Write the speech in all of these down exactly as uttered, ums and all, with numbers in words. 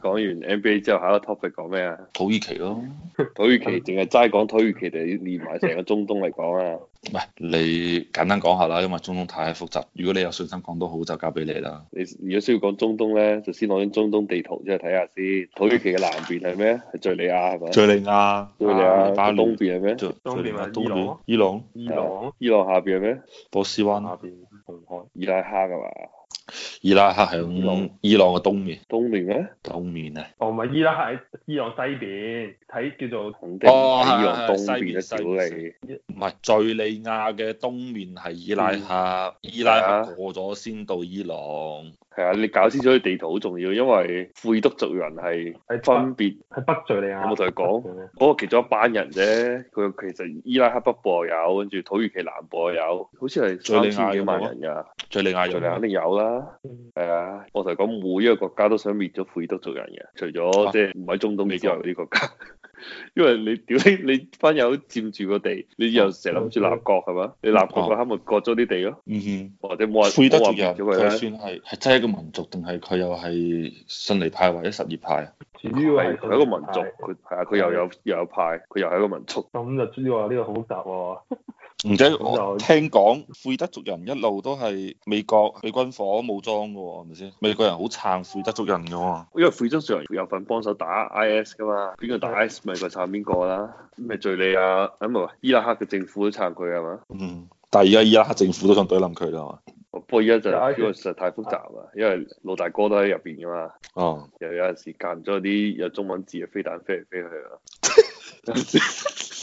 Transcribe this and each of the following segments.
講完 N B A 之後，下一個 topic 講咩啊？ 土耳其咯， 土耳其淨係齋講土耳其定連埋成個中東嚟講啊？ 唔係你簡單講下啦，因為中東太複雜。如果你有信心講到好，就交俾你啦。 你如果需要講中東咧，就先攞啲中東地圖出嚟睇下先。土耳其嘅南邊係咩？係敍利亞係咪？ 敍利亞、 敍利亞黎巴嫩東邊係咩？ 敍東邊係敍利亞伊朗， 伊朗、 伊朗， 伊朗下邊係咩？ 波斯灣、 下邊紅海。 伊拉克㗎嘛？ 伊拉克係響伊朗嘅東面， 東面咩？ 東面啊。 哦，唔係伊拉克喺伊朗西邊，睇叫做肯定哦係伊朗東係係邊嘅西邊屌你。 唔係敍利亞嘅東面係伊拉克，伊拉克過咗先到伊朗。 係啊，你搞清楚啲地圖好重要，因為庫爾德族人係喺分別。 喺北敍利亞。 有冇同佢講？嗰個其中一班人啫，佢其實伊拉克北部又有，跟住土耳其南部又有，好似係敍利亞三千幾有冇啊萬人㗎。 敍利亞有敍利亞肯定有啦，係啊！我同佢講，每一個國家都想滅咗庫爾德族人嘅，除咗即係唔喺中東之外嗰啲國家，因為你屌你你班友佔住個地，你又成日諗住立國係嘛？你立國嗰刻咪割咗啲地咯， 嗯哼， 或者冇人庫爾德冇話族人佢滅咗佢咧。 算係係真係一個民族，定係佢又係遜尼派或者什葉派啊？ 主要係係佢係一個民族，佢係啊，佢又有又有派，佢又係一個民族。 咁就主要話呢個好複雜喎。 唔知咁我就聽講庫爾德族人一路都係美國俾軍火武裝嘅喎，係咪先？美國人好撐庫爾德族人嘅喎。 因為庫爾德族人有份幫手打 I S 噶嘛，邊個打 I S 咪佢撐邊個啦？咪敍利亞啊唔係伊拉克嘅政府都撐佢係嘛？ 嗯，但係而家伊拉克政府都想懟冧佢啦嘛。 不過而家就因為實在太複雜啦，因為老大哥都喺入邊噶嘛， 哦， 又有陣時間咗啲有中文字嘅飛彈飛嚟飛去啊。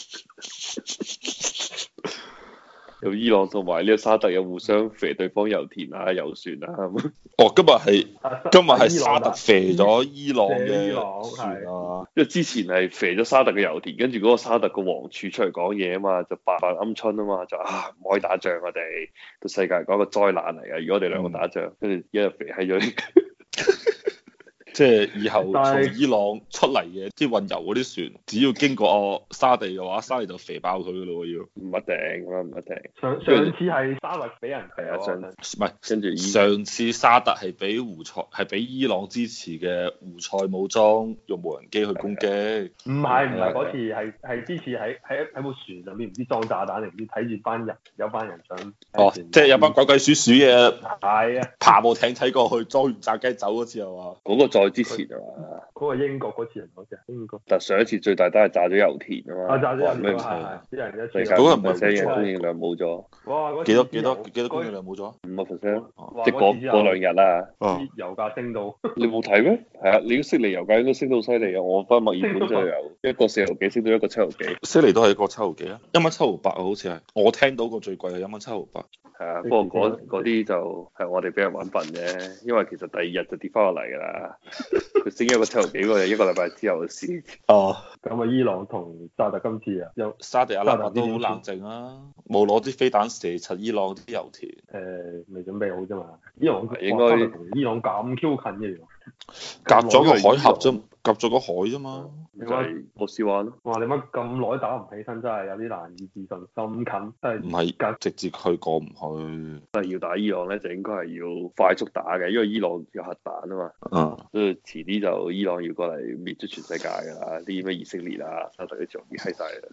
有伊朗同埋呢個沙特有互相射對方油田啊、油船啊咁。 哦，今日係今日係沙特射伊咗伊朗嘅伊朗船啊！ 因為之前係射咗沙特嘅油田，跟住嗰個沙特個王儲出嚟講嘢啊嘛，就扮扮鵪鶉啊嘛，就啊唔可以打仗，我哋對世界嚟講一個災難嚟嘅。如果我哋兩個打仗，跟住一日射喺咗。 即係以後但係從伊朗出嚟嘅啲運油嗰啲船，只要經過哦沙地嘅話，沙地就肥爆佢噶咯喎要。 唔一定啦，唔一定。 上上次係沙特俾人係啊，上射唔係， 跟住伊上次沙特係俾胡塞係俾伊朗支持嘅胡塞武裝用無人機去攻擊。 唔係唔係係嗰次係係之前喺喺喺部船上邊唔知裝炸彈定唔知睇住班人有班人想哦，即係有班鬼鬼祟祟嘅係啊爬部艇睇過去，裝完炸雞走嗰次係嘛？ 嗰個再之前啊嘛， 嗰個英國嗰次人嗰隻英國但上一次最大都係炸咗油田啊嘛。 啊炸咗人咩係係啲人一世界次嗰個唔係五 percent 嘅供應量冇咗， 哇嗰次幾多幾多油幾多公里量冇咗？ 五個 percent， 哇即係嗰嗰次之後嗰兩日啦。 哦， 啲油價升到你冇睇咩？係啊，你都悉尼油價應該升到好犀利啊！我翻墨爾本就由一個四毫幾升到一個七毫幾。 悉尼都係一個七毫幾啊，一蚊七毫八啊，好似係。我聽到過最貴係一蚊七毫八。 係啊，不過嗰嗰啲就係我哋俾人揾笨啫，因為其實第二日就跌翻落嚟㗎啦。佢升一個七毫幾嗰日，一個禮拜之後嘅事。 哦， 咁啊伊朗同沙特今次啊有沙地阿拉伯都好冷靜啊，冇攞啲飛彈射柒伊朗啲油田。 誒未準備好啫嘛，伊朗應該哇沙特同伊朗咁 Q 近嘅原來隔咗個海峽啫，隔咗個海啫嘛。 就係波斯灣咯。 哇！你乜咁耐打唔起身，真係有啲難以置信。咁近真係唔係隔直接去過唔去。 但係要打伊朗咧，就應該係要快速打嘅，因為伊朗有核彈啊嘛。 嗯。 所以遲啲就伊朗要過嚟滅咗全世界㗎啦，啲咩以色列啊、沙特啲就滅閪晒啦。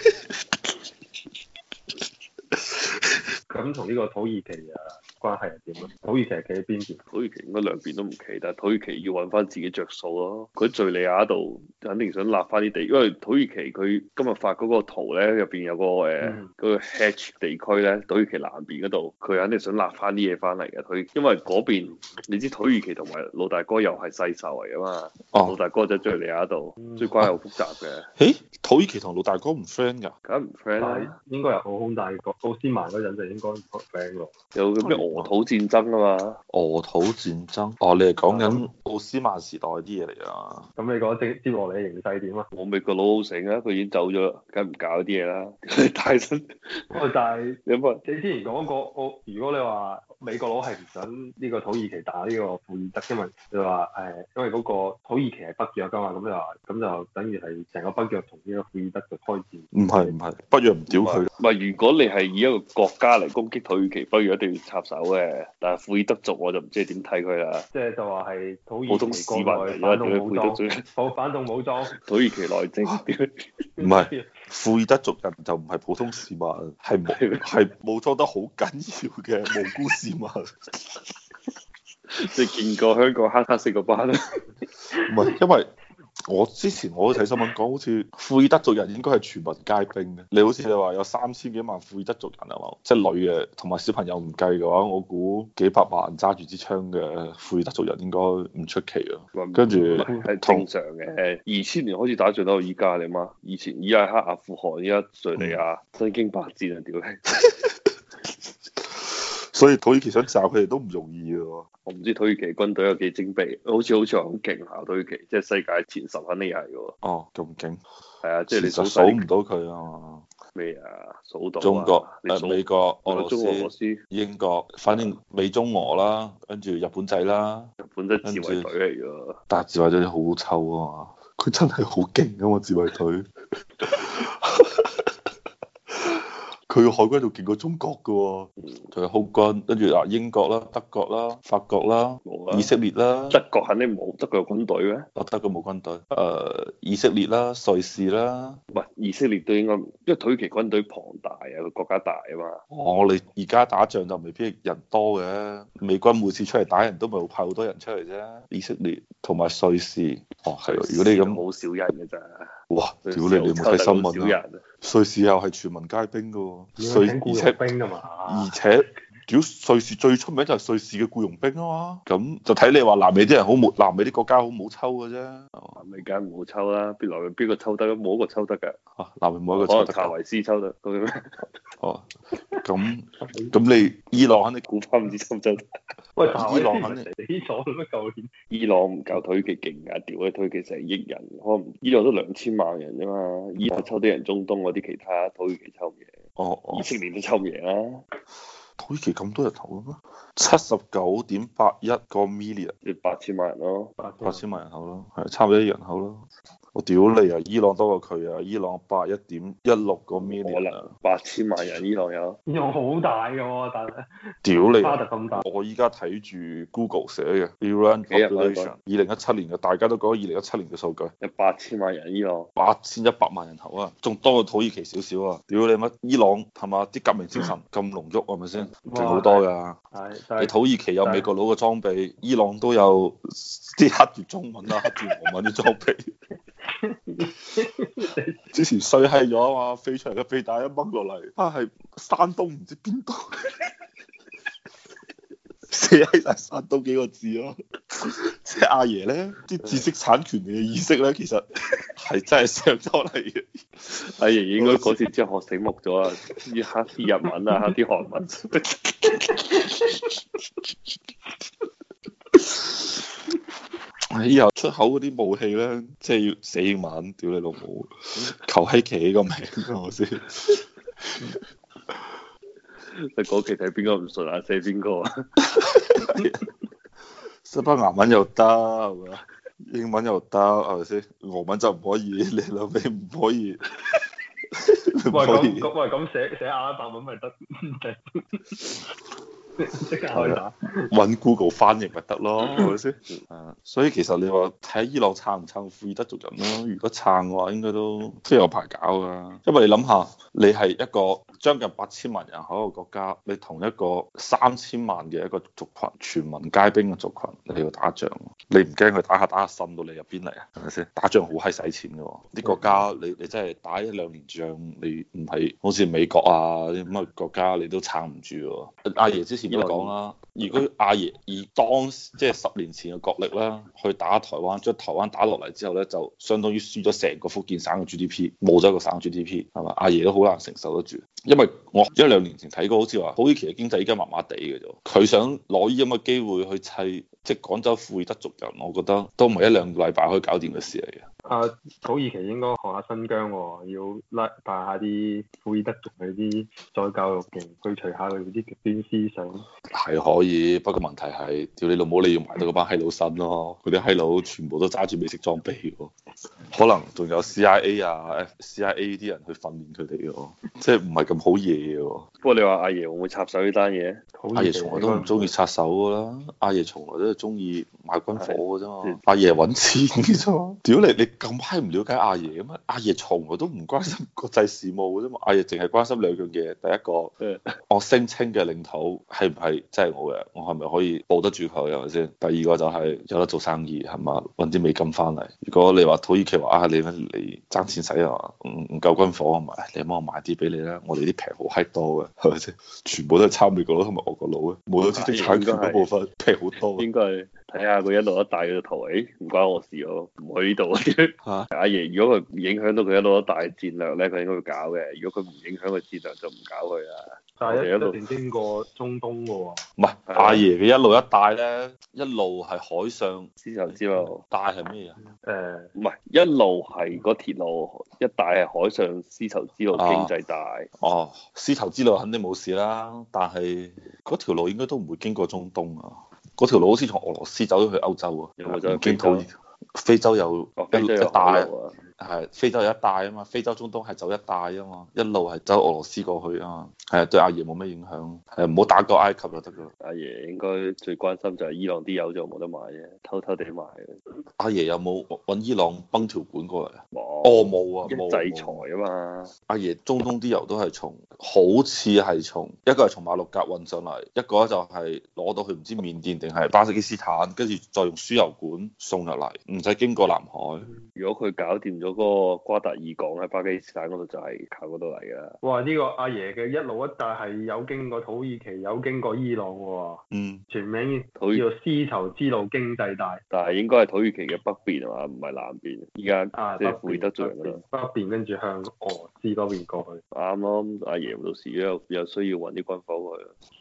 咁同呢個土耳其啊關係係點咧？土耳其係企喺邊邊？ 土耳其應該兩邊都唔企，但係土耳其要揾翻自己着數咯。佢喺敍利亞度肯定想立翻啲地，因為土耳其佢今日發嗰個圖咧，入邊有個誒嗰、呃嗯、 個 Hatch 地區咧，土耳其南邊嗰度，佢肯定想立翻啲嘢翻嚟嘅。佢因為嗰邊你知土耳其同埋老大哥又係世仇嚟噶嘛， 哦老大哥就喺敍利亞度，所以關係好複雜嘅。 誒，土耳其同老大哥唔 friend 㗎？ 梗唔 friend 但係啦， 應該係好空，但係個奧斯曼嗰陣就應該唔 friend 咯。 有個咩俄土戰爭啊嘛。 俄土戰爭？哦，你係講緊奧斯曼時代啲嘢嚟啊？ 咁你覺得接接落嚟嘅形勢點啊？ 我美國佬好醒啊，佢已經走咗，梗唔搞啲嘢啦。大新， 不過但係有乜？ 你之前講過，我如果你話美國佬係唔想呢個土耳其打呢個庫爾德，因為佢話誒，因為嗰個土耳其係北約㗎嘛，咁就話咁就等於係成個北約同呢個庫爾德就開戰。 唔係唔係，北約唔屌佢。 唔係，如果你係以一個國家嚟攻擊土耳其，北約一定要插手嘅。但係庫爾德族我就唔知點睇佢啦。 即係就話係土普通耳其市民嚟啦， 國內反動武裝， 點解庫爾德族？ 反反動武裝。 土耳其內政點？ 唔係庫爾德族人就唔係普通市民，係冇係武裝得好緊要嘅無辜市民。 即係見過香港黑黑色個班啦。 唔係，因為我之前我都睇新聞講，好似庫爾德族人應該係全民皆兵嘅。你好似你話有三千幾萬庫爾德族人係嘛？即係女嘅同埋小朋友唔計嘅話，我估幾百萬揸住支槍嘅庫爾德族人應該唔出奇啊。跟住係正常嘅。二千年開始打仗到依家你媽，以前伊拉克、阿富汗、依家敍利亞，身經百戰啊！屌你！ 所以土耳其想炸佢哋都唔容易嘅。 我唔知土耳其軍隊有幾精備，好似好似話好勁下土耳其，即係世界前十肯定係嘅。 哦，咁勁。 係啊，即係你數數唔到佢啊嘛。 咩啊？數到中國、 你數誒美國、俄羅斯、 中俄羅斯、 英國，反正美中俄啦，跟住日本仔啦， 日本真係自衛隊嚟㗎。 但係自衛隊好臭啊嘛，佢真係好勁啊嘛，自衛隊。佢個海軍仲勁過中國嘅喎，仲有空軍，跟住啊英國啦、德國啦、法國啦、 冇啊以色列啦， 德國肯定冇，德國有軍隊咩？ 哦德國冇軍隊，誒、呃、以色列啦、瑞士啦， 唔係以色列都應該，因為土耳其軍隊龐大啊，個國家大啊嘛。 我哋而家打仗就未必人多嘅，美軍每次出嚟打人都咪會派好多人出嚟啫。以色列同埋瑞士，哦係喎，如果你咁好少人嘅咋。 哇！屌你，你有冇睇新聞啊？瑞士又係全民皆兵嘅喎，瑞而且兵啊嘛， 而且屌瑞士最出名就係瑞士嘅僱傭兵啊嘛，咁就睇你話南美啲人好冇，南美啲國家好冇抽嘅啫。 南美梗唔好抽啦，邊來邊個抽得？冇一個抽得㗎。 啊，南美冇一個可能抽得。 塔維斯抽得，咁咩？ 哦，咁咁你伊朗肯定估翻唔知抽唔抽得？ 喂， 伊朗肯定死咗咩舊年？ 伊朗唔夠土耳其勁㗎，屌你土耳其成億人，可能伊朗都兩千萬人啫嘛，伊朗抽啲人中東嗰啲其他土耳其抽唔贏， 哦哦以，色列都抽唔贏啦。 土耳其咁多人口嘅咩？七十九點八一個 million， 即八千萬人咯， 八千萬人口咯，係差唔多啲人口咯。我屌你啊！伊朗多過佢啊！伊朗八一點一六個 million， 可能八千萬人伊朗有。 伊朗好大嘅喎，但係屌你！ 巴特咁大。 我依家睇住 Google 寫嘅 Iran population 二零一七年嘅，大家都講二零一七年嘅數據， 有八千萬人伊朗， 八千一百萬人口啊，仲多過土耳其少少啊！屌你乜？伊朗係嘛？啲革命精神咁濃郁係咪先？勁好多㗎。 係， 你土耳其有美國佬嘅裝備，伊朗都有啲刻住中文啦、刻住俄文啲裝備。之前衰閪咗啊嘛，飛出嚟嘅飛彈一掹落嚟，啊係山東唔知邊度，寫喺晒山東幾個字咯。即係阿爺咧，啲知識產權嘅意識咧，其實係真係上咗嚟嘅。 阿爺應該嗰次之後學醒目咗啊，要刻啲日文啊，刻啲韓文。 以後出口嗰啲武器咧，即係要寫英文，屌你老母，求閪奇個名係咪先？ 你嗰期睇邊個唔順啊？寫邊個啊？ 西班牙文又得係咪？英文又得係咪先？俄文就唔可以，你兩尾唔可以。 喂咁咁喂咁寫寫阿拉伯文咪得？即刻開打， 揾 Google 翻譯咪得咯，係咪先？啊，所以其實你話睇伊朗撐唔撐庫爾德族人咯？如果撐嘅話，應該都都有排搞噶。因為你諗下，你係一個將近八千萬人口嘅國家，你同一個三千萬嘅一個族群，全民皆兵嘅族群，你要打仗，你唔驚佢打下打下滲到你入邊嚟啊？係咪先？打仗好閪使錢嘅喎，啲國家你你真係打一兩年仗，你唔係好似美國啊啲咁嘅國家，你都撐唔住喎。阿爺之前都講啦，如果阿爺以當即係十年前嘅國力啦，去打台灣，將台灣打落嚟之後咧，就相當於輸咗成個福建省嘅 G D P，冇咗一個省 G D P，係嘛？阿爺都好難承受得住，因為我一兩年前睇過，好似話土耳其嘅經濟依家麻麻地嘅啫，佢想攞呢咁嘅機會去砌即係廣州庫爾德族人，我覺得都唔係一兩個禮拜可以搞掂嘅事嚟嘅。 啊，土耳其應該學下新疆喎，要拉帶下啲庫爾德族嗰啲再教育營，去除下佢哋啲極端思想。 係可以，不過問題係，屌你老母，你要埋到嗰班閪佬身咯，嗰啲閪佬全部都揸住美式裝備喎，可能仲有 C I A 啊、C I A 啲人去訓練佢哋喎，即係唔係咁好嘢喎。 不過你話阿爺會唔會插手呢單嘢？ 阿爺從來都唔中意插手噶啦，阿爺從來都係中意買軍火嘅啫嘛，阿爺揾錢嘅啫嘛。屌你，你咁閪唔了解阿爺嘅咩？阿爺從來都唔關心國際事務嘅啫嘛，阿爺淨係關心兩樣嘢，第一個，我聲稱嘅領土係唔係真係我嘅，我係咪可以保得住佢係咪先？第二個就係有得做生意係嘛，揾啲美金翻嚟。如果你話土耳其話啊，你你爭錢使啊，唔唔夠軍火啊嘛，你幫我買啲俾你啦，我哋啲平好閪多嘅係咪先？全部都係抄美國佬同埋俄國佬嘅，冇咗知識產權嗰部分平好多。 應該係睇下佢一路一帶嘅圖，誒唔關我事喎，唔去呢度啊！阿爺如果佢唔影響到佢一路一帶戰略咧，佢應該會搞嘅。如果佢唔影響佢戰略，就唔搞佢啦。 但係一路定經過中東嘅喎。唔係阿爺嘅一路一帶咧，一路係海上絲綢之路， 帶係咩啊？ 誒唔係一路係嗰鐵路，一帶係海上絲綢之路經濟帶。 哦，絲綢之路肯定冇事啦，但係嗰條路應該都唔會經過中東啊。嗰條路好似從俄羅斯走咗去歐洲啊， 有冇走去經土耳其？非洲有一一帶。係非洲有一帶啊嘛，非洲中東係走一帶啊嘛，一路係走俄羅斯過去啊嘛，係啊，對阿爺冇咩影響，係唔好打過埃及就得噶啦。 阿爺應該最關心就係伊朗啲油就冇得買啫，偷偷地買嘅。 阿爺有冇揾伊朗崩條管過嚟啊？ 冇， 哦冇啊，冇制裁啊嘛。 阿爺中東啲油都係從，好似係從一個係從馬六甲運上嚟，一個就係攞到去唔知緬甸定係巴基斯坦，跟住再用輸油管送入嚟，唔使經過南海。 如果佢搞掂咗嗰個瓜達爾港喺巴基斯坦嗰度，就係靠嗰度嚟噶。 哇！呢個阿爺嘅一路一帶係有經過土耳其，有經過伊朗喎。 嗯。 全名叫做絲綢之路經濟帶。 但係應該係土耳其嘅北邊係嘛，唔係南邊。依家即係庫爾德族人啦。 北邊跟住向俄羅斯嗰邊過去。 啱咯，阿爺到時有有需要揾啲軍火去。